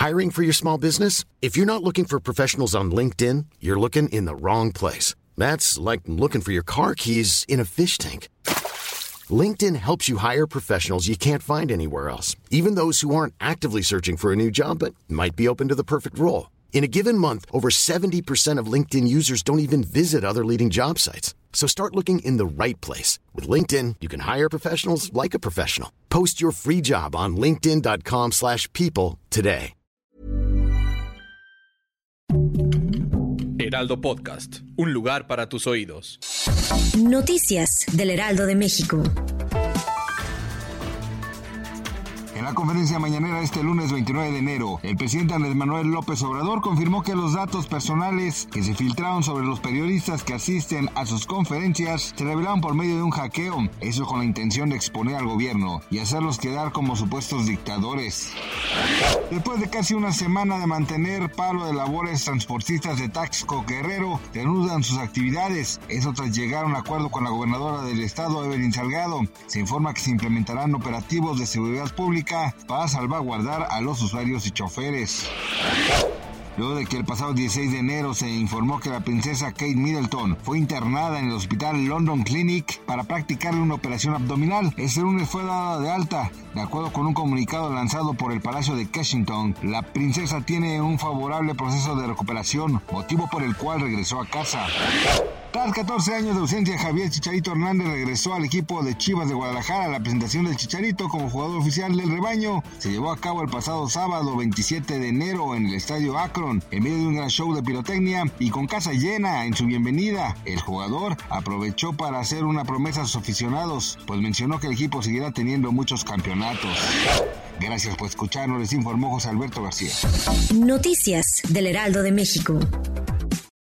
Hiring for your small business? If you're not looking for professionals on LinkedIn, you're looking in the wrong place. That's like looking for your car keys in a fish tank. LinkedIn helps you hire professionals you can't find anywhere else, even those who aren't actively searching for a new job but might be open to the perfect role. In a given month, over 70% of LinkedIn users don't even visit other leading job sites. So start looking in the right place. With LinkedIn, you can hire professionals like a professional. Post your free job on linkedin.com/people today. Heraldo Podcast, un lugar para tus oídos. Noticias del Heraldo de México. En la conferencia mañanera este lunes 29 de enero, el presidente Andrés Manuel López Obrador confirmó que los datos personales que se filtraron sobre los periodistas que asisten a sus conferencias se revelaron por medio de un hackeo, eso con la intención de exponer al gobierno y hacerlos quedar como supuestos dictadores. Después de casi una semana de mantener paro de labores, transportistas de Taxco Guerrero reanudan sus actividades, eso tras llegar a un acuerdo con la gobernadora del estado, Evelyn Salgado. Se informa que se implementarán operativos de seguridad pública para salvaguardar a los usuarios y choferes. Luego de que el pasado 16 de enero se informó que la princesa Kate Middleton fue internada en el hospital London Clinic para practicarle una operación abdominal, este lunes fue dada de alta. De acuerdo con un comunicado lanzado por el Palacio de Kensington, la princesa tiene un favorable proceso de recuperación, motivo por el cual regresó a casa. Tras 14 años de ausencia, Javier Chicharito Hernández regresó al equipo de Chivas de Guadalajara. La presentación del Chicharito como jugador oficial del rebaño se llevó a cabo el pasado sábado 27 de enero en el estadio Akron, en medio de un gran show de pirotecnia y con casa llena en su bienvenida. El jugador aprovechó para hacer una promesa a sus aficionados, pues mencionó que el equipo seguirá teniendo muchos campeonatos. Gracias por escucharnos, les informó José Alberto García. Noticias del Heraldo de México.